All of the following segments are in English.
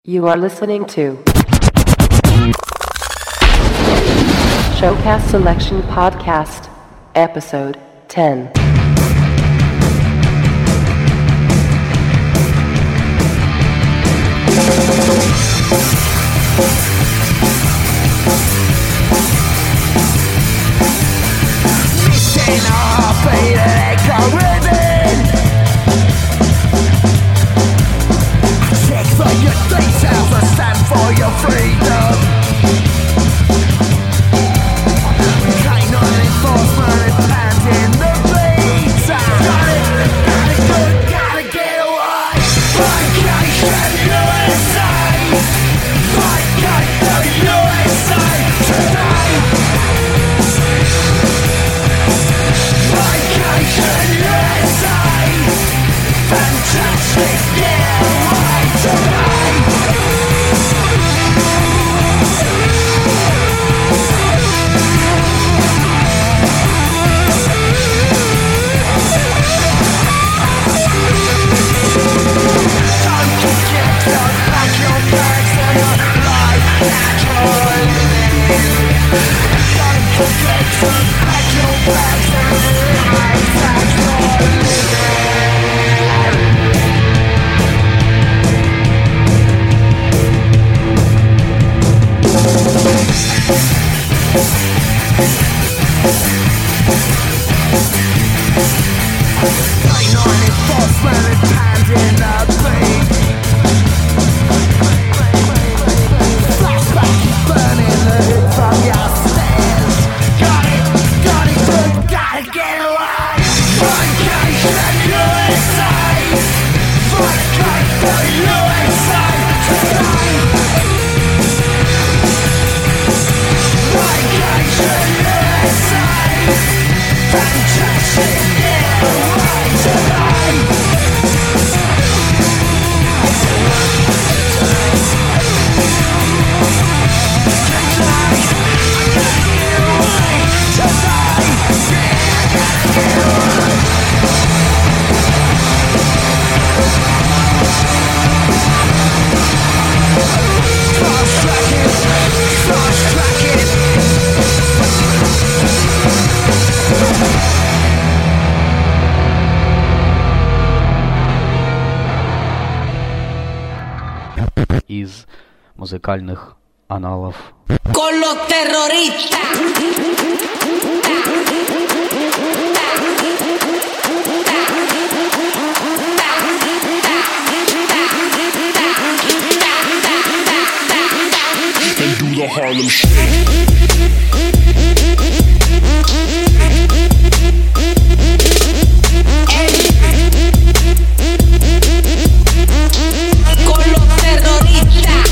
You are listening to Showcast Selection Podcast, Episode 10. Missing our fate and echo ribbon. Check for your details and stand for your freedom. Canine enforcement and pounding the beats. Gotta get away. Vacation USA. Vacation USA today. Vacation USA. Fantastic, yeah, right today. Don't forget to pack your bags and life naturally. Don't forget to pack your bags and life naturally. Canine enforcement and pounding the beat. Flashback is burning the hood from your stairs. Got it, good, gotta get away. Vacation USA. Vacation USA today. Vacation USA. Fantastic, yeah, right today. Из музыкальных аналов. Con los terroristas. They do the Harlem Shake. Con los terroristas.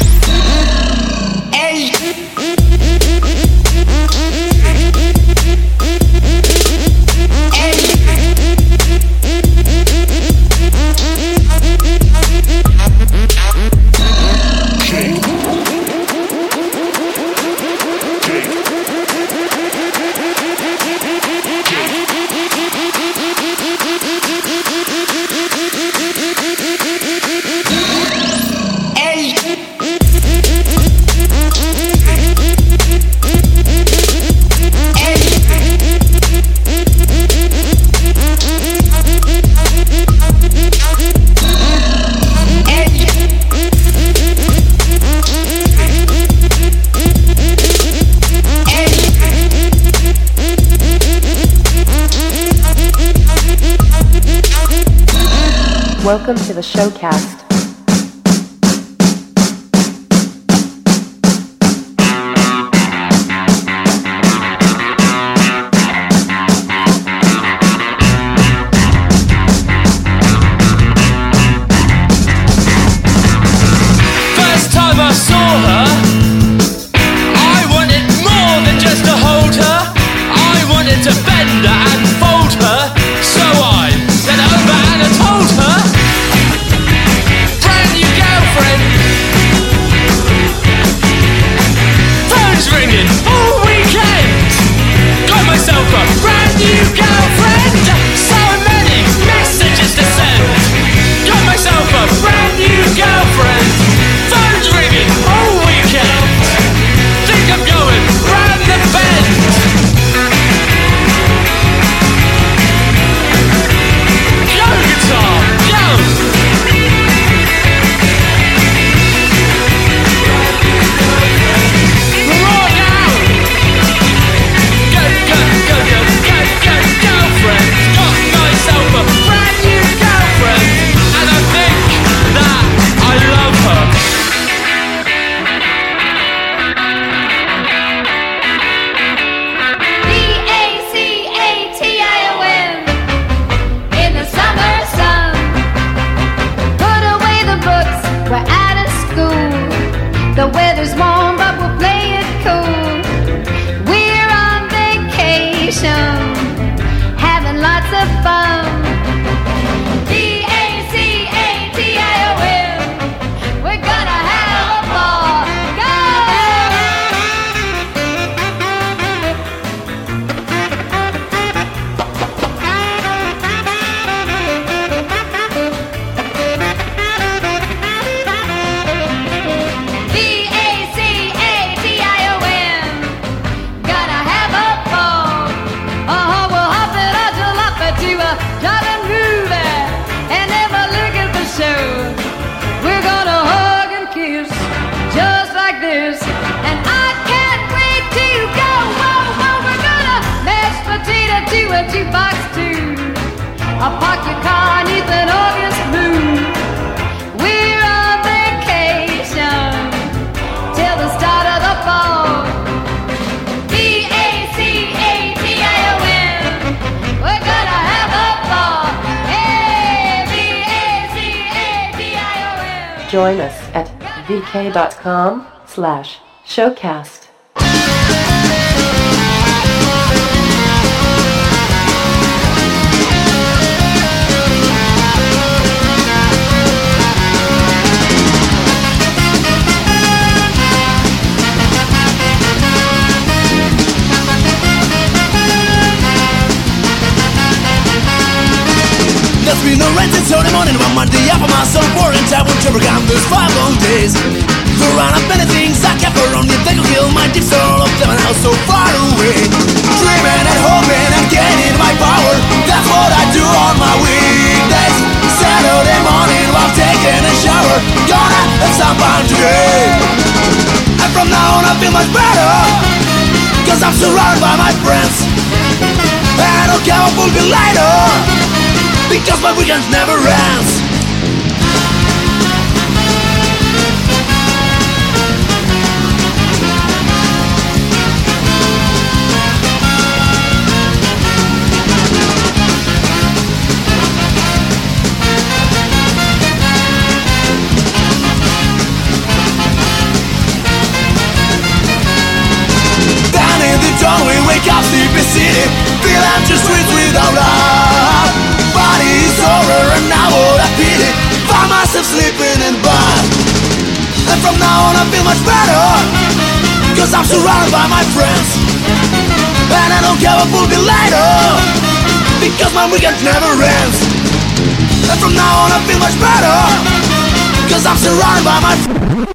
Welcome to the Showcast. First time I saw her, I wanted more than just to hold her. I wanted to bend her and fold her. So I bent over and I told her school. The weather's warm, but we'll play it cool. We're on vacation, having lots of fun. D-A-C-A-T-I-O-N, we're gonna have a ball. Go! D-A-C-A-T-I-O-N, gonna have a ball. We'll hop it on jalapa to a driving movie and never look at the show. We're gonna hug and kiss just like this, and I can't wait to go. Whoa, whoa, we're gonna mash potato to a jukebox too. I'll park your car neath an August moon. We're on vacation till the start of the fall. D-A-C-A-T-I-O-N, we're gonna have a ball. Hey, D-A-C-A-T-I-O-N. Join us at vk.com/showcast. There's been no rent until the morning. One Monday after my soul boring time won't ever come. There's 5 long days. To run up many things I kept around me. They could kill my deep soul of them and now so far away. Dreaming and hoping and gaining my power. That's what I do on my weekdays. Saturday morning while taking a shower. Gonna have some fun today. And from now on I feel much better, cause I'm surrounded by my friends. And I don't care what will be later, because my weekend never ends. Down in the dawn we wake up sleepy city, feel empty streets without love. Body is over and now what I pity. Find myself sleeping in bed. And from now on I feel much better, cause I'm surrounded by my friends. And I don't care what will be later, because my weekend never ends. And from now on I feel much better, cause I'm surrounded by my friends.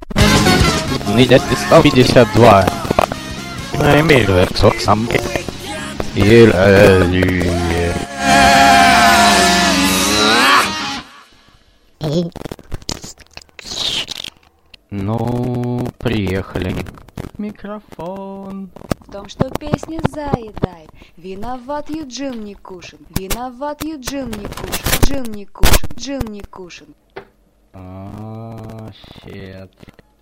52. Emil сам. Ну, приехали. Микрофон. В том, что песня заедает. Виноват Юджин Никушин. Виноват Юджин Никушин. Джин Никушин. Джин Никушин. Щет.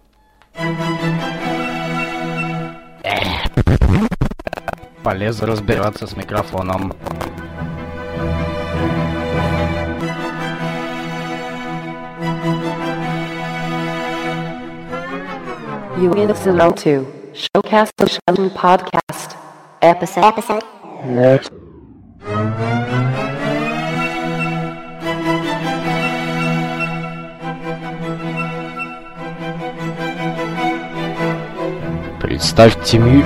Полез разбираться с микрофоном. You listen to Showcast the Show podcast episode. Next. Представьте мне...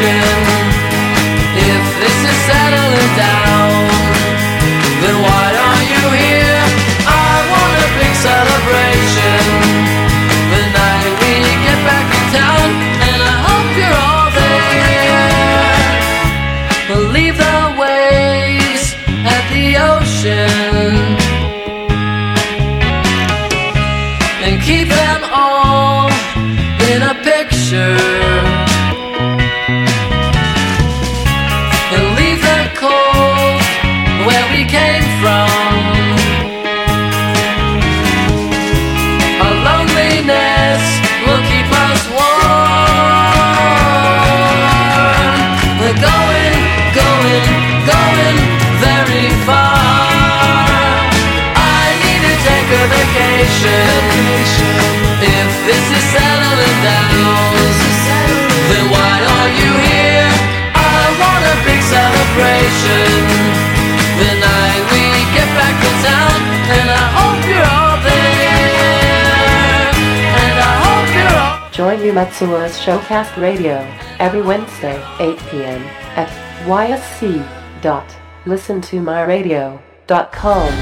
ocean. If this is settling down, then why are you here? I want a big celebration the night we get back in town, and I hope you're all there. Leave the waves at the ocean and keep them all in a picture, and leave the cold where we came from. Our loneliness will keep us warm. We're going, going, going very far. I need to take a vacation. If this is settling down, then why are you here? I want a big celebration the night we get back to town, and I hope you're all there, and I hope you're all. Join Umatsua's Showcast Radio every Wednesday, 8 p.m. at ysc.listentomyradio.com.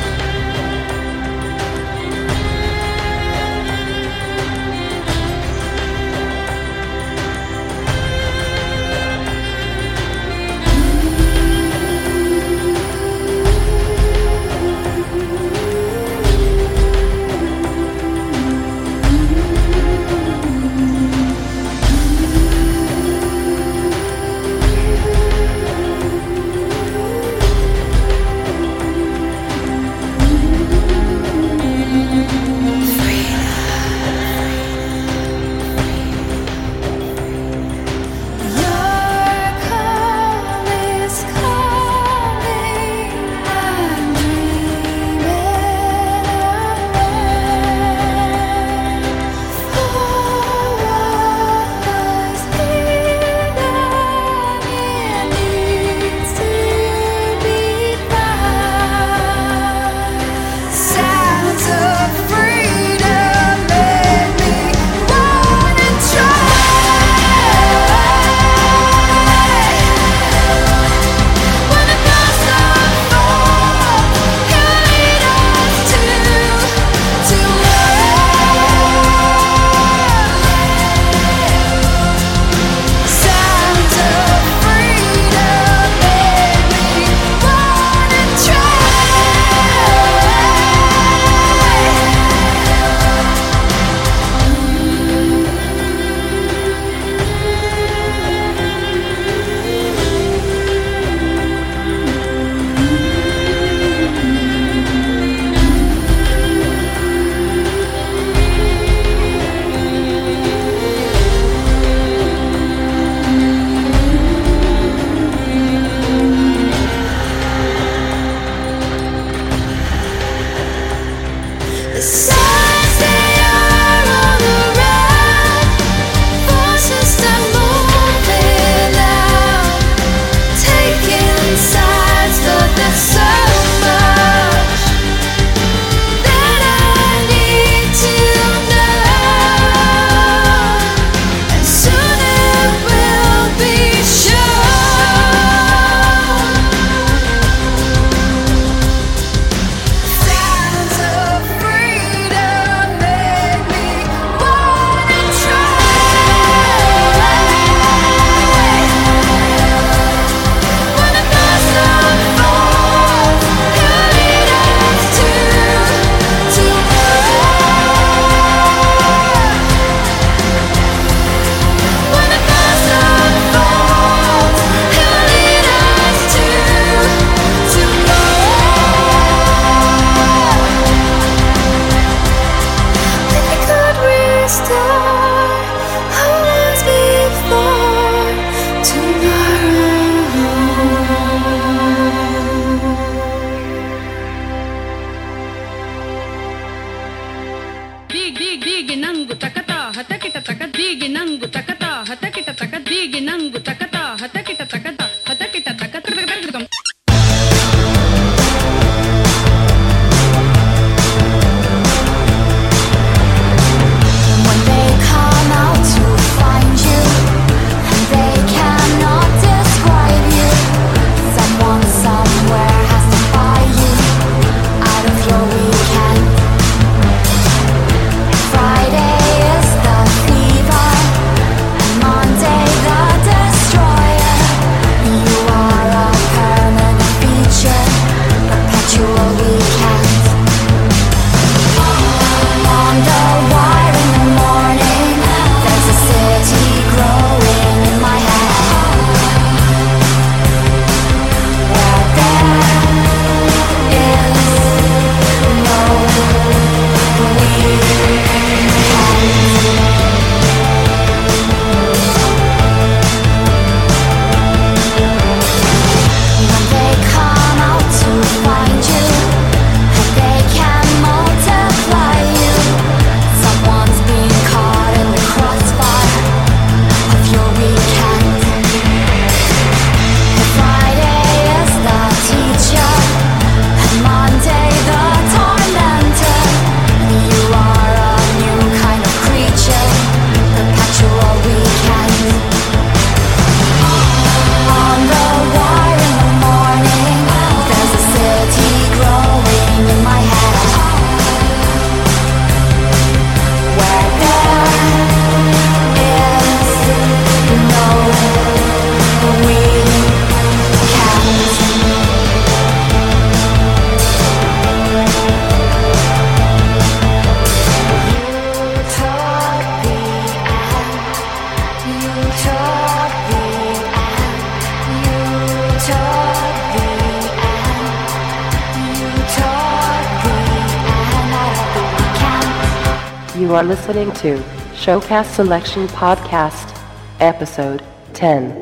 You are listening to Showcast Selection Podcast, Episode 10.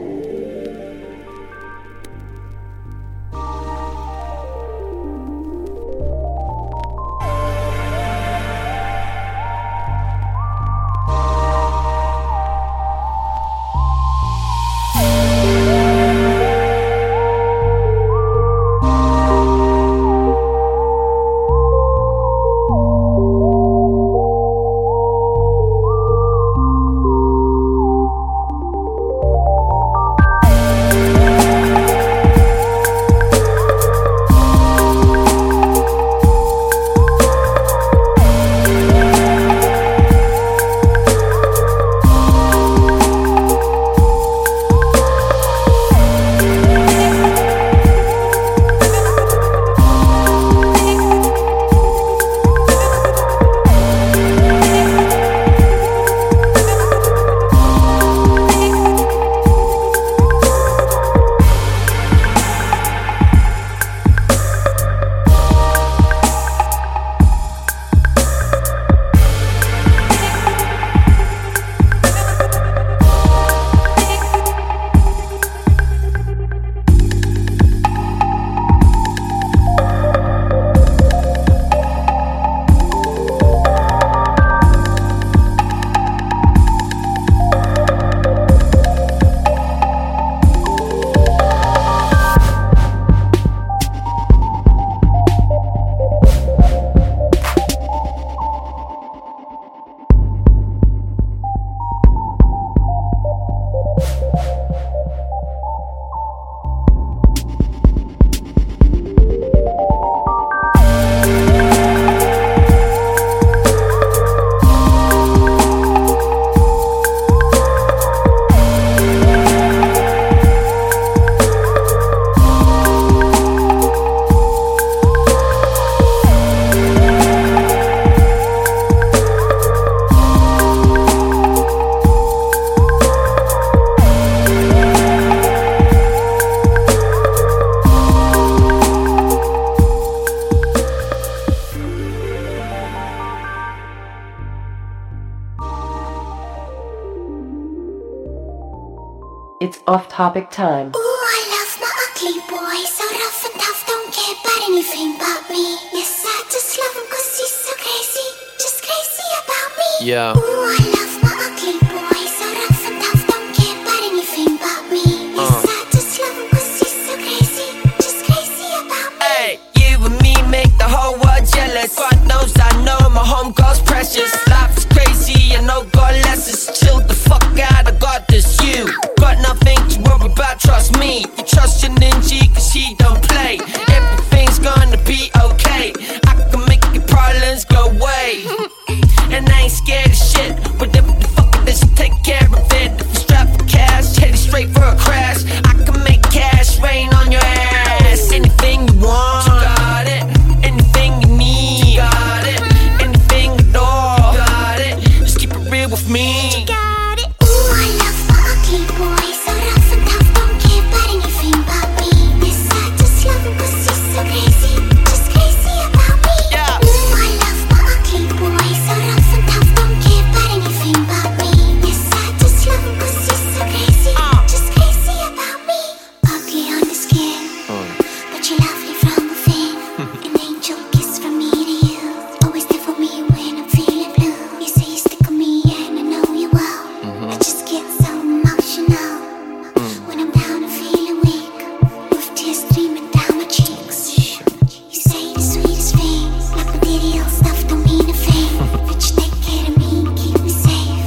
It's off-topic time. Ooh, I love my ugly boy, so rough and tough, don't care about anything but me. Yes, I just love him cause he's so crazy, just crazy about me. Yeah. Ooh, I love my ugly boy, so rough and tough, don't care about anything but me. Yes, I just love him cause he's so crazy, just crazy about me. Hey, you and me make the whole world jealous. God knows I know my home girl's precious. Life is crazy, I know God lets us chill the fuck out, I got this, you. Got nothing to worry about, trust me. You trust your ninja cause he don't play. Everything's gonna be okay. I can make your problems go away. And I ain't scared of shit. Whatever the fuck it is, you take care of it. If you strap for cash, headed straight for a crash. I can make cash rain on your ass. Anything you want, you got it. Anything you need, you got it. Anything at all, you got it. Just keep it real with me. You got it. Ooh, I love my ugly boy, so rough and tough, don't care about anything but me. Yes, I just love him cause he's so crazy, just crazy about me. Yeah. Ooh, I love my ugly boy, so rough and tough, don't care about anything but me. Yes, I just love him cause he's so crazy, just crazy about me. Ugly on the skin, but you're lovely from within. An angel kiss from me to you, always there for me when I'm feeling blue. You say you stick with me and I know you will. I just get so emotional when I'm down and feeling weak, with tears streaming down my cheeks. You say the sweetest things, like material stuff don't mean a thing, but you take care of me and keep me safe.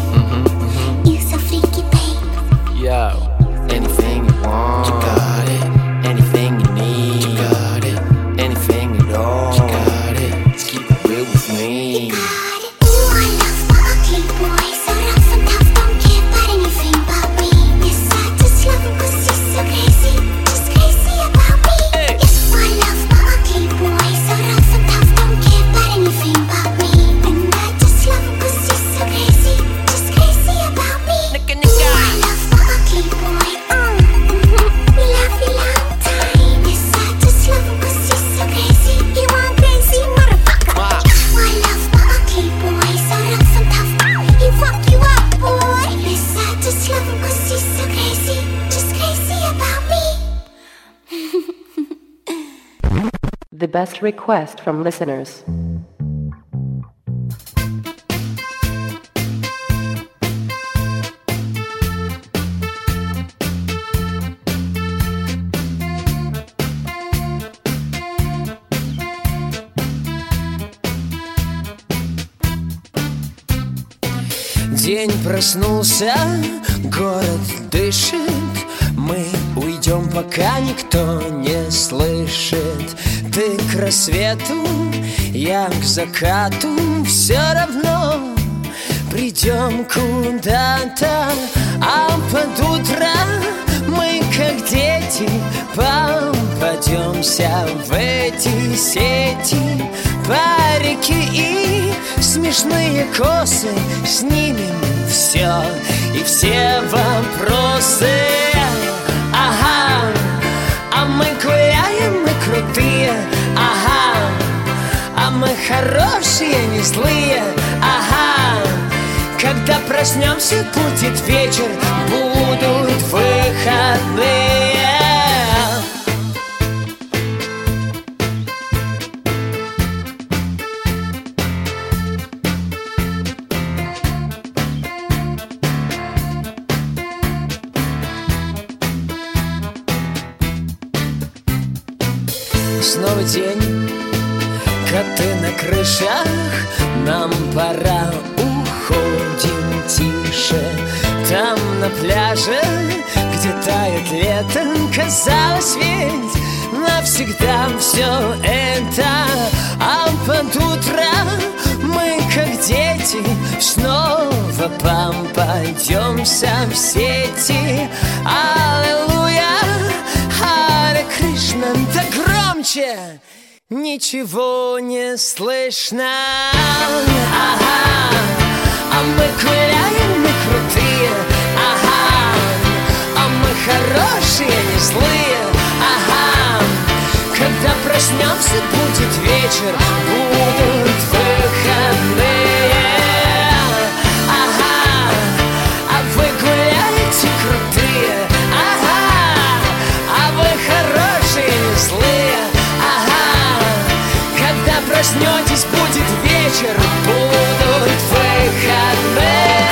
You so freaky, babe. Yo, anything you want, you got it. Anything you need, you got it. Anything at all, you got it. Just keep it real with me. Got it. Ooh, I love my ugly boy, so rough and tough, don't care about anything but me. Yes, I just love him cause he's so crazy, just crazy about me. Hey. Yes, I love my ugly boy, so rough and tough, don't care about anything but me. And I just love him cause he's so crazy, just crazy about me. Nigga, Ooh, I love my ugly boy, best request from listeners. День проснулся, город дышит. Мы уйдем, пока никто не слышит. Ты к рассвету, я к закату. Все равно придем куда-то. А под утро мы, как дети, попадемся в эти сети. Парики и смешные косы, снимем все и все вопросы. Ага, а мы гуляем, мы крутые. Ага, а мы хорошие, не злые. Ага, когда проснемся, будет вечер, будут выходные. Снова день, коты на крышах. Нам пора, уходим тише. Там на пляже, где тает лето, казалось ведь навсегда все это. А под утро мы, как дети, снова попадемся в сети. Аллилуйя, Харе Кришна, да громче, ничего не слышно. Ага, а мы гуляем, мы крутые. Ага, а мы хорошие, не злые. Ага, когда проснемся, будет вечер, будут выходные. Ага, а вы гуляете крутые. Ага, а вы хорошие, не злые. Ага, когда проснетесь, будет вечер, будут выходные.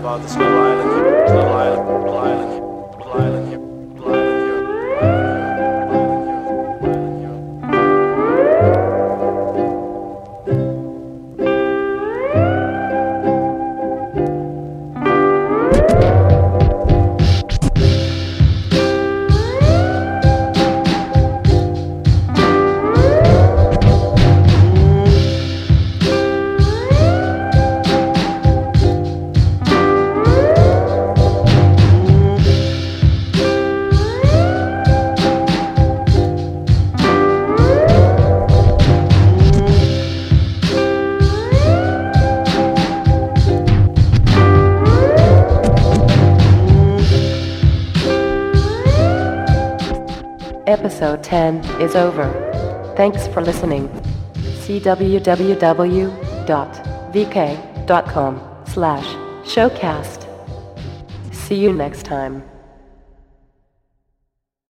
about this little island, little island, little island, little island here, little island here, Episode 10 is over. Thanks for listening. See www.vk.com/showcast. See you next time.